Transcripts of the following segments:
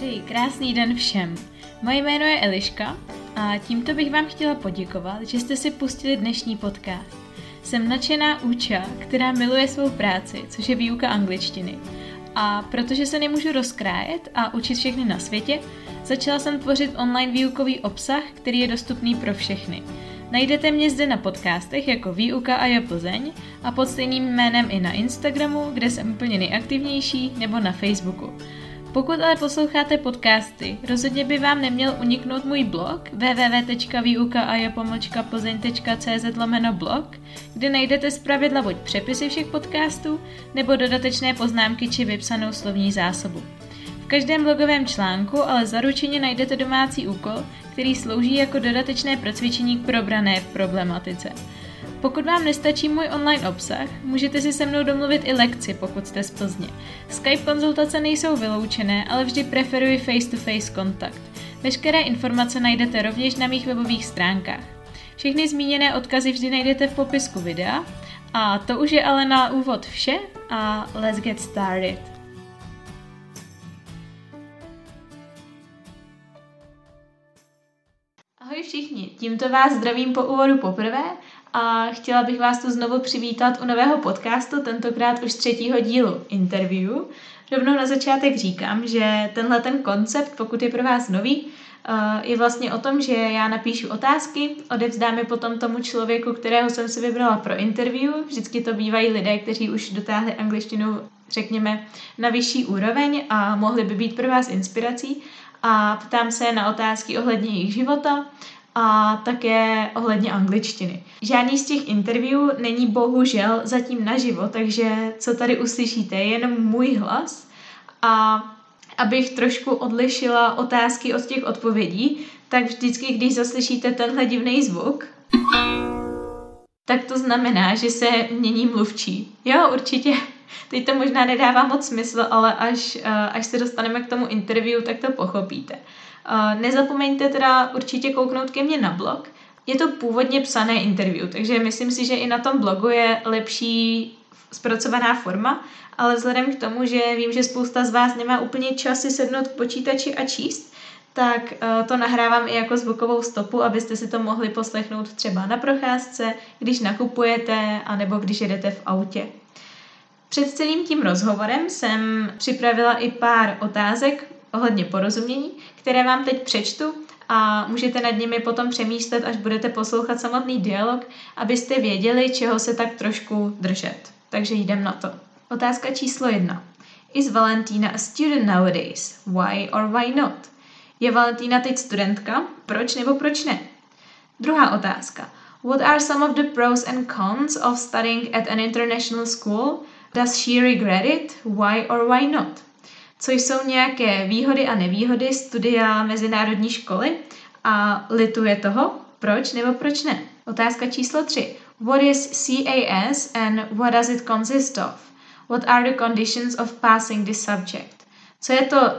Přeji krásný den všem. Moje jméno je Eliška a tímto bych vám chtěla poděkovat, že jste si pustili dnešní podcast. Jsem nadšená úča, která miluje svou práci, což je výuka angličtiny. A protože se nemůžu rozkrájet a učit všechny na světě, začala jsem tvořit online výukový obsah, který je dostupný pro všechny. Najdete mě zde na podcastech jako Výuka a je Plzeň a pod stejným jménem i na Instagramu, kde jsem úplně nejaktivnější, nebo na Facebooku. Pokud ale posloucháte podcasty, rozhodně by vám neměl uniknout můj blog www.vyuka-plzeň.cz/blog, kde najdete zpravidla buď přepisy všech podcastů, nebo dodatečné poznámky či vypsanou slovní zásobu. V každém blogovém článku ale zaručeně najdete domácí úkol, který slouží jako dodatečné procvičení k probrané problematice. Pokud vám nestačí můj online obsah, můžete si se mnou domluvit i lekci, pokud jste z Plzně. Skype konzultace nejsou vyloučené, ale vždy preferuji face-to-face kontakt. Veškeré informace najdete rovněž na mých webových stránkách. Všechny zmíněné odkazy vždy najdete v popisku videa. A to už je ale na úvod vše a let's get started. Ahoj všichni, tímto vás zdravím po úvodu poprvé a chtěla bych vás tu znovu přivítat u nového podcastu, tentokrát už 3. dílu interview. Rovnou na začátek říkám, že tenhle ten koncept, pokud je pro vás nový, je vlastně o tom, že já napíšu otázky, odevzdám je potom tomu člověku, kterého jsem si vybrala pro interview. Vždycky to bývají lidé, kteří už dotáhli angličtinu, řekněme, na vyšší úroveň a mohli by být pro vás inspirací. A ptám se na otázky ohledně jejich života a také ohledně angličtiny. Žádný z těch interview není bohužel zatím naživo, takže co tady uslyšíte je jenom můj hlas. A abych trošku odlišila otázky od těch odpovědí, tak vždycky, když zaslyšíte tenhle divný zvuk, tak to znamená, že se mění mluvčí. Jo, určitě. Teď to možná nedává moc smysl, ale až se dostaneme k tomu interview, tak to pochopíte. Nezapomeňte teda určitě kouknout ke mně na blog. Je to původně psané interview, takže myslím si, že i na tom blogu je lepší zpracovaná forma, ale vzhledem k tomu, že vím, že spousta z vás nemá úplně čas si sednout k počítači a číst, tak to nahrávám i jako zvukovou stopu, abyste si to mohli poslechnout třeba na procházce, když nakupujete, anebo když jedete v autě. Před celým tím rozhovorem jsem připravila i pár otázek ohledně porozumění, které vám teď přečtu a můžete nad nimi potom přemýšlet, až budete poslouchat samotný dialog, abyste věděli, čeho se tak trošku držet. Takže jdem na to. Otázka číslo 1. Is Valentina a student nowadays? Why or why not? Je Valentína teď studentka? Proč nebo proč ne? Druhá otázka. What are some of the pros and cons of studying at an international school? Does she regret it? Why or why not? Co jsou nějaké výhody a nevýhody studia mezinárodní školy a lituje toho? Proč nebo proč ne? Otázka číslo 3. What is CAS and what does it consist of? What are the conditions of passing this subject? Co je to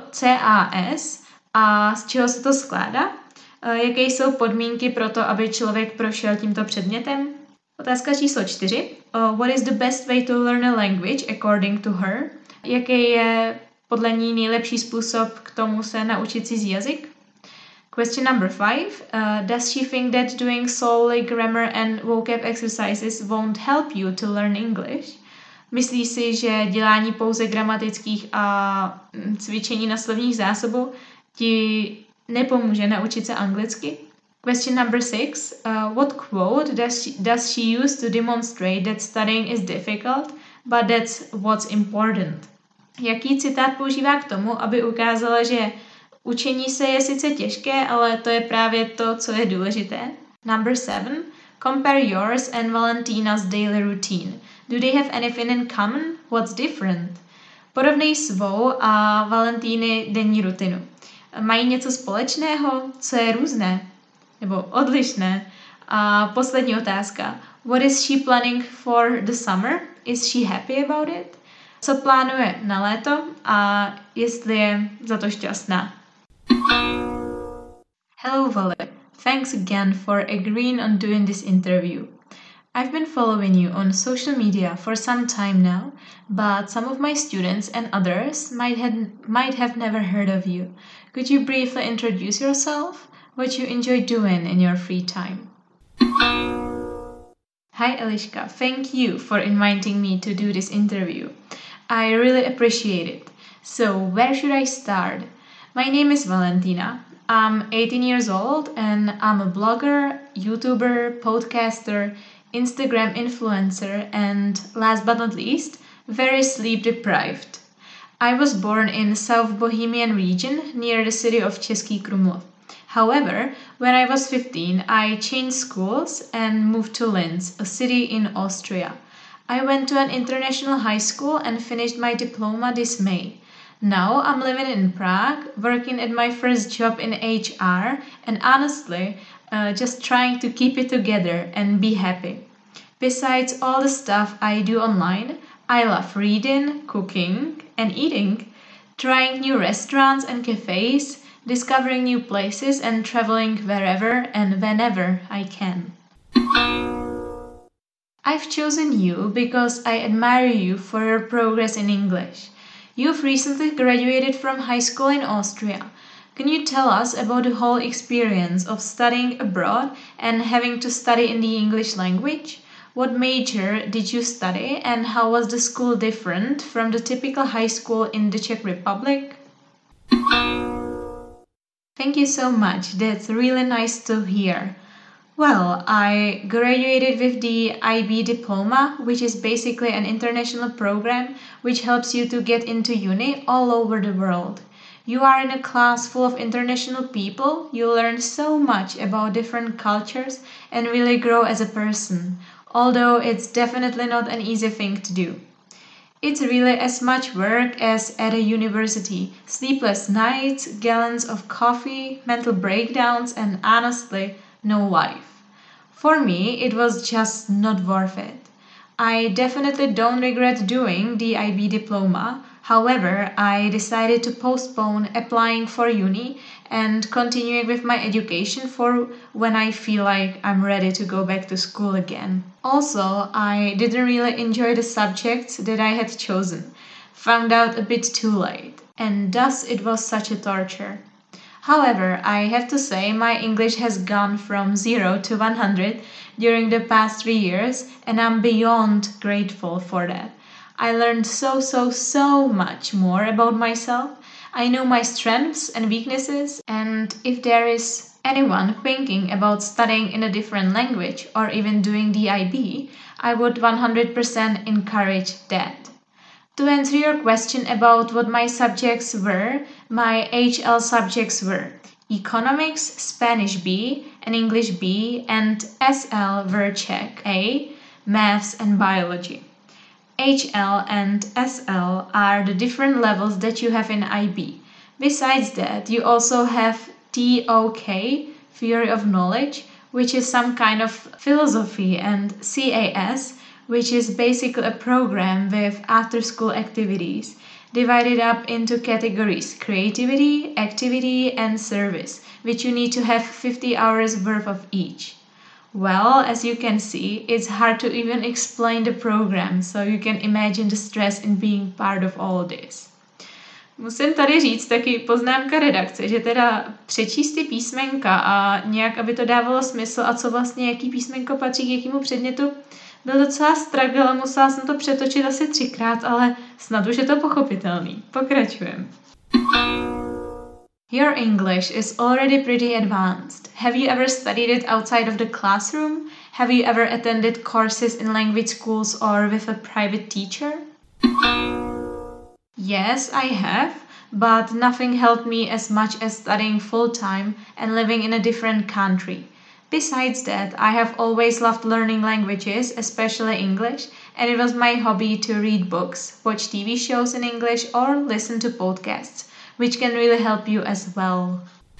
CAS a z čeho se to skládá? Jaké jsou podmínky pro to, aby člověk prošel tímto předmětem? Otázka číslo 4. What is the best way to learn a language according to her? Jaký je podle ní nejlepší způsob k tomu se naučit cizí jazyk? Question number 5. Does she think that doing solely grammar and vocab exercises won't help you to learn English? Myslí si, že dělání pouze gramatických a cvičení na slovních zásobu ti nepomůže naučit se anglicky? Question number 6. What quote does she use to demonstrate that studying is difficult, but that's what's important? Jaký citát používá k tomu, aby ukázala, že učení se je sice těžké, ale to je právě to, co je důležité? Number 7. Compare yours and Valentina's daily routine. Do they have anything in common? What's different? Porovnej svou a Valentíny denní rutinu. Mají něco společného? Co je různé? Nebo odlišné? A poslední otázka. What is she planning for the summer? Is she happy about it? Co plánuje na léto a jestli je za to šťastná? Hello Vale, thanks again for agreeing on doing this interview. I've been following you on social media for some time now, but some of my students and others might have never heard of you. Could you briefly introduce yourself? What you enjoy doing in your free time? Hi Eliška, thank you for inviting me to do this interview. I really appreciate it. So, where should I start? My name is Valentina. I'm 18 years old and I'm a blogger, YouTuber, podcaster, Instagram influencer, and last but not least, very sleep deprived. I was born in South Bohemian region near the city of Český Krumlov. However, when I was 15, I changed schools and moved to Linz, a city in Austria. I went to an international high school and finished my diploma this May. Now I'm living in Prague, working at my first job in HR, and honestly, just trying to keep it together and be happy. Besides all the stuff I do online, I love reading, cooking, and eating, trying new restaurants and cafes, discovering new places, and traveling wherever and whenever I can. I've chosen you because I admire you for your progress in English. You've recently graduated from high school in Austria. Can you tell us about the whole experience of studying abroad and having to study in the English language? What major did you study and how was the school different from the typical high school in the Czech Republic? Thank you so much. That's really nice to hear. Well, I graduated with the IB diploma, which is basically an international program which helps you to get into uni all over the world. You are in a class full of international people, you learn so much about different cultures and really grow as a person, although it's definitely not an easy thing to do. It's really as much work as at a university. Sleepless nights, gallons of coffee, mental breakdowns, and honestly, no life. For me, it was just not worth it. I definitely don't regret doing the IB diploma. However, I decided to postpone applying for uni and continuing with my education for when I feel like I'm ready to go back to school again. Also, I didn't really enjoy the subjects that I had chosen. Found out a bit too late, and thus it was such a torture. However, I have to say my English has gone from 0 to 100 during the past 3 years, and I'm beyond grateful for that. I learned so much more about myself. I know my strengths and weaknesses, and if there is anyone thinking about studying in a different language or even doing the IB, I would 100% encourage that. To answer your question about what my subjects were, my HL subjects were Economics, Spanish B, and English B, and SL were Czech A, Maths and Biology. HL and SL are the different levels that you have in IB. Besides that, you also have TOK, Theory of Knowledge, which is some kind of philosophy, and CAS, which is basically a program with after-school activities, divided up into categories: creativity, activity, and service, which you need to have 50 hours worth of each. Well, as you can see, it's hard to even explain the program, so you can imagine the stress in being part of all this. Musím tady říct taky poznámka redakce, že teda přečíst ty písmenka a nějak, aby to dávalo smysl a co vlastně, jaký písmenko patří k jakému předmětu, byl docela struggle a musela jsem to přetočit asi 3krát, ale snad už je to pochopitelný. Pokračujem. Your English is already pretty advanced. Have you ever studied it outside of the classroom? Have you ever attended courses in language schools or with a private teacher? Yes, I have, but nothing helped me as much as studying full-time and living in a different country. Besides that, I have always loved learning languages, especially English, and it was my hobby to read books, watch TV shows in English, or listen to podcasts, which can really help you as well.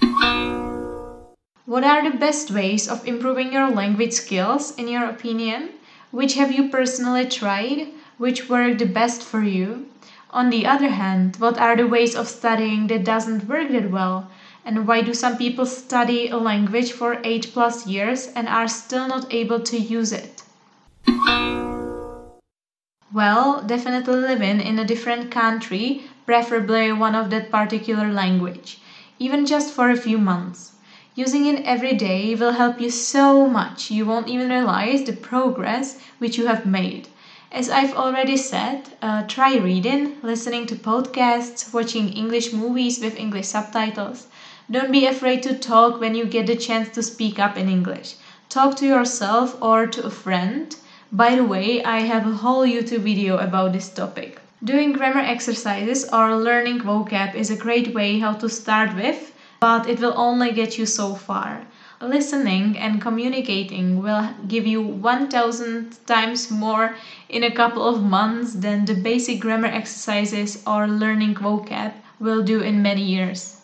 What are the best ways of improving your language skills, in your opinion? Which have you personally tried? Which worked the best for you? On the other hand, what are the ways of studying that doesn't work that well? And why do some people study a language for 8+ years and are still not able to use it? Well, definitely living in a different country, preferably one of that particular language, even just for a few months. Using it every day will help you so much you won't even realize the progress which you have made. As I've already said, try reading, listening to podcasts, watching English movies with English subtitles. Don't be afraid to talk when you get the chance to speak up in English. Talk to yourself or to a friend. By the way, I have a whole YouTube video about this topic. Doing grammar exercises or learning vocab is a great way how to start with, but it will only get you so far. Listening and communicating will give you 1000 times more in a couple of months than the basic grammar exercises or learning vocab will do in many years.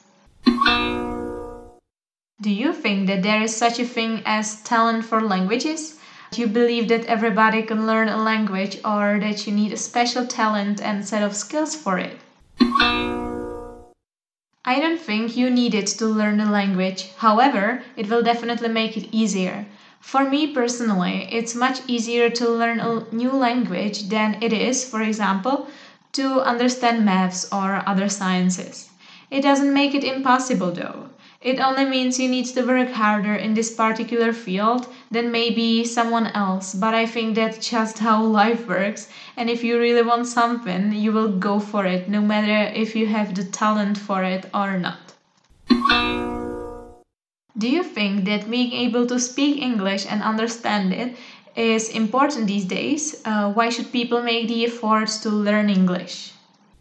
Do you think that there is such a thing as talent for languages? Do you believe that everybody can learn a language or that you need a special talent and set of skills for it? I don't think you need it to learn a language. However, it will definitely make it easier. For me personally, it's much easier to learn a new language than it is, for example, to understand maths or other sciences. It doesn't make it impossible though. It only means you need to work harder in this particular field than maybe someone else, but I think that's just how life works, and if you really want something, you will go for it, no matter if you have the talent for it or not. Do you think that being able to speak English and understand it is important these days? Why should people make the effort to learn English?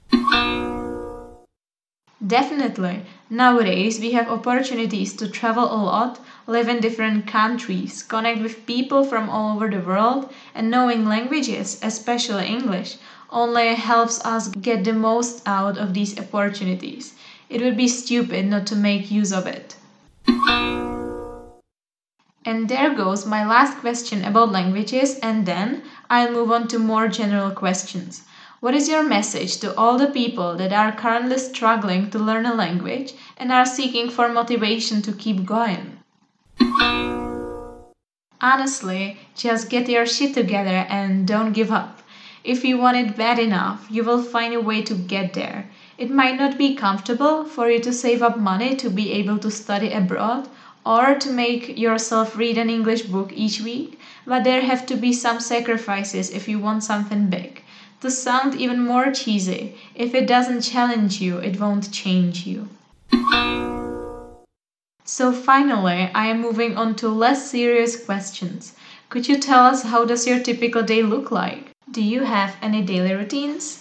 Definitely. Nowadays, we have opportunities to travel a lot, live in different countries, connect with people from all over the world, and knowing languages, especially English, only helps us get the most out of these opportunities. It would be stupid not to make use of it. And there goes my last question about languages, and then I'll move on to more general questions. What is your message to all the people that are currently struggling to learn a language and are seeking for motivation to keep going? Honestly, just get your shit together and don't give up. If you want it bad enough, you will find a way to get there. It might not be comfortable for you to save up money to be able to study abroad or to make yourself read an English book each week, but there have to be some sacrifices if you want something big. To sound even more cheesy, if it doesn't challenge you, it won't change you. So finally, I am moving on to less serious questions. Could you tell us how does your typical day look like? Do you have any daily routines?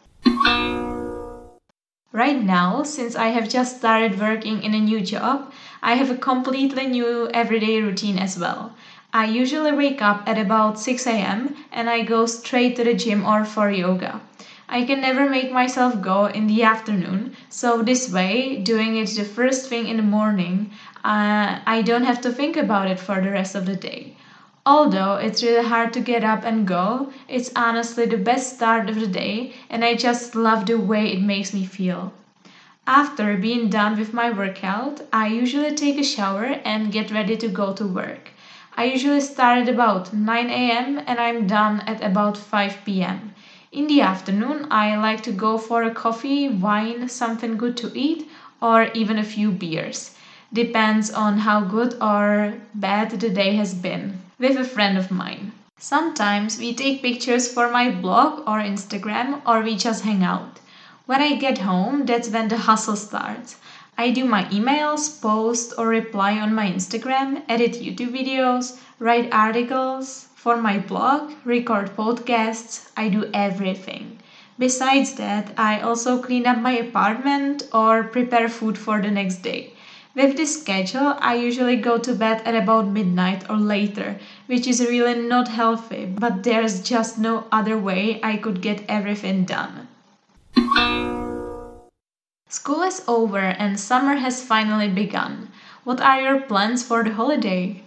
Right now, since I have just started working in a new job, I have a completely new everyday routine as well. I usually wake up at about 6 a.m. and I go straight to the gym or for yoga. I can never make myself go in the afternoon, so this way, doing it the first thing in the morning, I don't have to think about it for the rest of the day. Although it's really hard to get up and go, it's honestly the best start of the day and I just love the way it makes me feel. After being done with my workout, I usually take a shower and get ready to go to work. I usually start at about 9 a.m. and I'm done at about 5 p.m. In the afternoon, I like to go for a coffee, wine, something good to eat, or even a few beers. Depends on how good or bad the day has been, with a friend of mine. Sometimes we take pictures for my blog or Instagram, or we just hang out. When I get home, that's when the hustle starts. I do my emails, post or reply on my Instagram, edit YouTube videos, write articles for my blog, record podcasts, I do everything. Besides that, I also clean up my apartment or prepare food for the next day. With this schedule, I usually go to bed at about midnight or later, which is really not healthy, but there's just no other way I could get everything done. School is over and summer has finally begun. What are your plans for the holiday?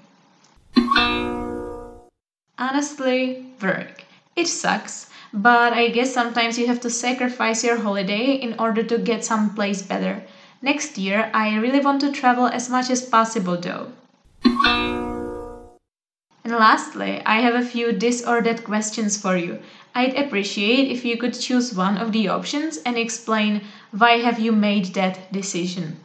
Honestly, work. It sucks, but I guess sometimes you have to sacrifice your holiday in order to get someplace better. Next year, I really want to travel as much as possible though. And lastly, I have a few this or that questions for you. I'd appreciate if you could choose one of the options and explain why have you made that decision.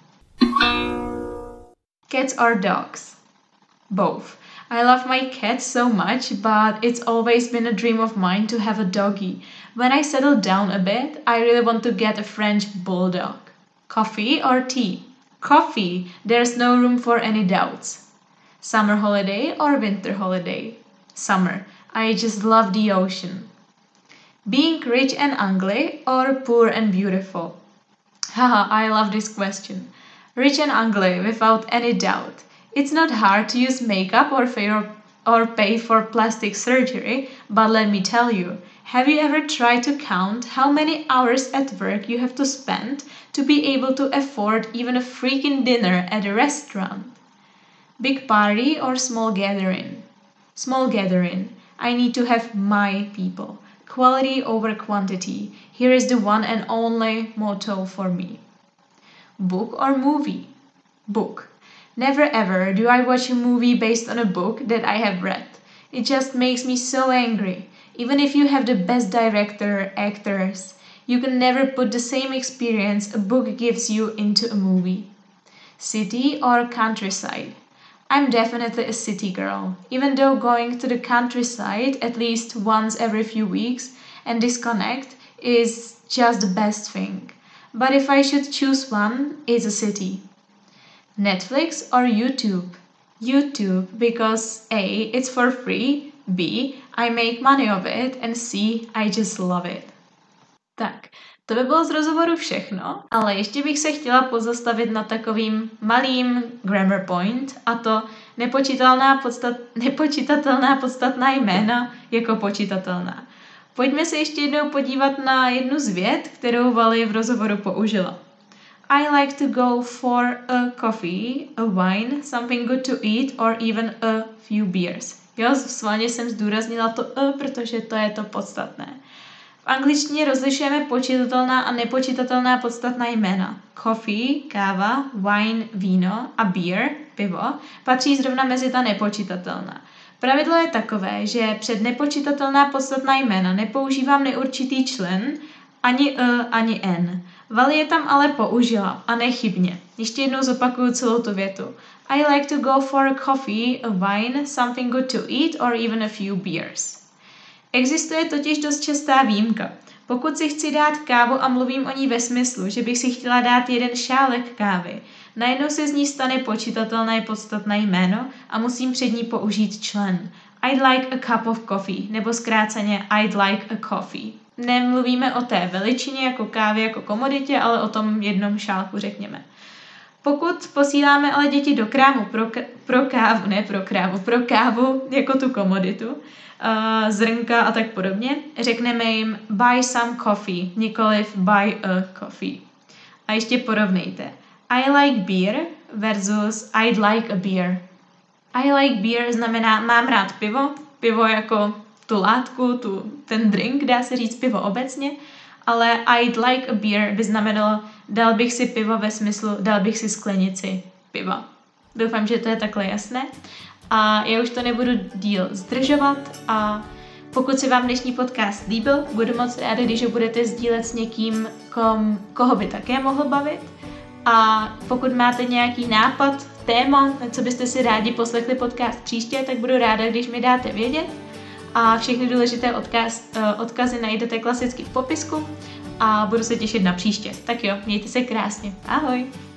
Cats or dogs? Both. I love my cat so much, but it's always been a dream of mine to have a doggy. When I settle down a bit, I really want to get a French bulldog. Coffee or tea? Coffee. There's no room for any doubts. Summer holiday or winter holiday? Summer. I just love the ocean. Being rich and ugly or poor and beautiful? Haha, I love this question. Rich and ugly, without any doubt. It's not hard to use makeup or pay for plastic surgery, but let me tell you, have you ever tried to count how many hours at work you have to spend to be able to afford even a freaking dinner at a restaurant? Big party or small gathering? Small gathering. I need to have my people. Quality over quantity. Here is the one and only motto for me. Book or movie? Book. Never ever do I watch a movie based on a book that I have read. It just makes me so angry. Even if you have the best director, actors, you can never put the same experience a book gives you into a movie. City or countryside? I'm definitely a city girl, even though going to the countryside at least once every few weeks and disconnect is just the best thing. But if I should choose one, it's a city. Netflix or YouTube? YouTube, because A, it's for free, B, I make money of it, and C, I just love it. Tak, to by bylo z rozhovoru všechno, ale ještě bych se chtěla pozastavit na takovým malým grammar point, a to nepočítatelná podstatná jména jako počítatelná. Pojďme se ještě jednou podívat na jednu z vět, kterou Vali v rozhovoru použila. I like to go for a coffee, a wine, something good to eat, or even a few beers. Jo, sválně jsem zdůraznila to protože to je to podstatné. V angličtině rozlišujeme počítatelná a nepočítatelná podstatná jména. Coffee, káva, wine, víno a beer, pivo, patří zrovna mezi ta nepočítatelná. Pravidlo je takové, že před nepočítatelná podstatná jména nepoužívám neurčitý člen, ani ani n. Vali je tam ale použila a nechybně. Ještě jednou zopakuju celou tu větu. I like to go for a coffee, a wine, something good to eat or even a few beers. Existuje totiž dost častá výjimka. Pokud si chci dát kávu a mluvím o ní ve smyslu, že bych si chtěla dát jeden šálek kávy, najednou se z ní stane počítatelné podstatné jméno a musím před ní použít člen. I'd like a cup of coffee, nebo zkráceně I'd like a coffee. Nemluvíme o té veličině jako kávy, jako komoditě, ale o tom jednom šálku, řekněme. Pokud posíláme ale děti do krámu pro kávu jako tu komoditu, zrnka a tak podobně, řekneme jim buy some coffee, nikoliv buy a coffee. A ještě porovnejte. I like beer versus I'd like a beer. I like beer znamená mám rád pivo jako tu látku, ten drink, dá se říct pivo obecně, ale I'd like a beer by znamenalo dal bych si pivo ve smyslu dal bych si sklenici piva. Doufám, že to je takhle jasné. A já už to nebudu díl zdržovat a pokud se vám dnešní podcast líbil, budu moc ráda, když ho budete sdílet s někým, koho by také mohl bavit. A pokud máte nějaký nápad, téma, na co byste si rádi poslechli podcast příště, tak budu ráda, když mi dáte vědět. A všechny důležité odkazy najdete klasicky v popisku a budu se těšit na příště. Tak jo, mějte se krásně. Ahoj!